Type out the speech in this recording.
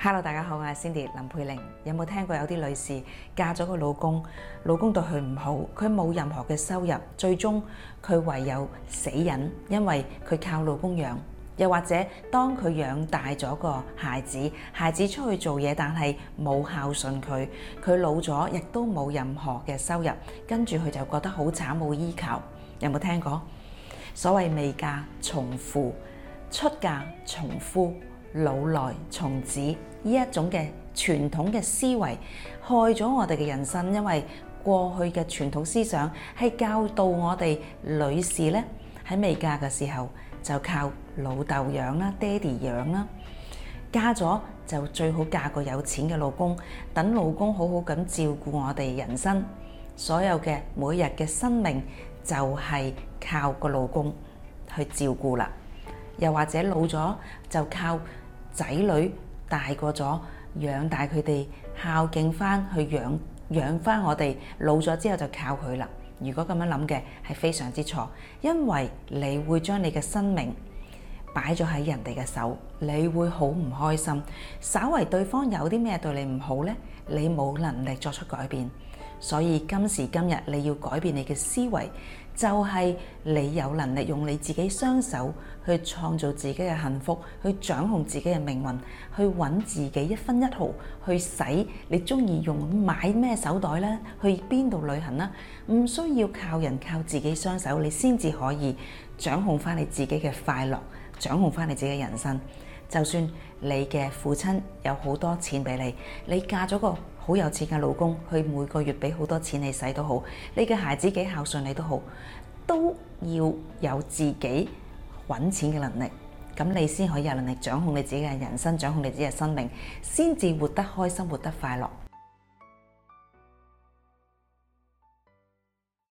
Hello， 大家好，我係 Cindy 林佩玲。有冇聽過有啲女士嫁咗個老公，老公對佢唔好，佢冇任何嘅收入，最終佢唯有死忍，因為佢靠老公養。又或者當佢養大咗個孩子，孩子出去做嘢，但係冇孝順佢，佢老咗亦都冇任何嘅收入，跟住佢就覺得好慘，冇依靠。有冇聽過？所謂未嫁從父，出嫁從夫，老來從子，呢一種嘅傳統嘅思維害咗我哋嘅人生。因為過去嘅傳統思想係教導我哋女士咧，喺未嫁嘅時候就靠老豆養啦，爹哋養啦，嫁咗就最好嫁個有錢嘅老公，等老公好好咁照顧我哋人生，所有嘅每日嘅生命就係靠個老公去照顧啦。又或者老咗就靠仔女大個咗養大佢哋，孝敬翻去養翻我哋，老咗之後就靠佢啦。如果咁樣諗嘅係非常之錯，因為你會將你嘅生命擺咗喺人哋嘅手，你會好唔開心。稍為對方有啲咩對你唔好呢，你冇能力作出改變。所以今時今日你要改變你嘅思維，就係你有能力用你自己雙手去創造自己嘅幸福，去掌控自己嘅命運，去揾自己一分一毫，去使你中意用買咩手袋呢，去邊度旅行啦，唔需要靠人，靠自己雙手，你先至可以掌控翻你自己嘅快樂，掌控翻你自己嘅人生。就算你嘅父親有好多錢俾你，你嫁咗個好有錢嘅老公，佢每個月俾好多錢你使都好，你嘅孩子幾孝順你都好，都要有自己揾錢嘅能力，咁你先可以有能力掌控你自己嘅人生，掌控你自己嘅生命，先至活得開心，活得快樂。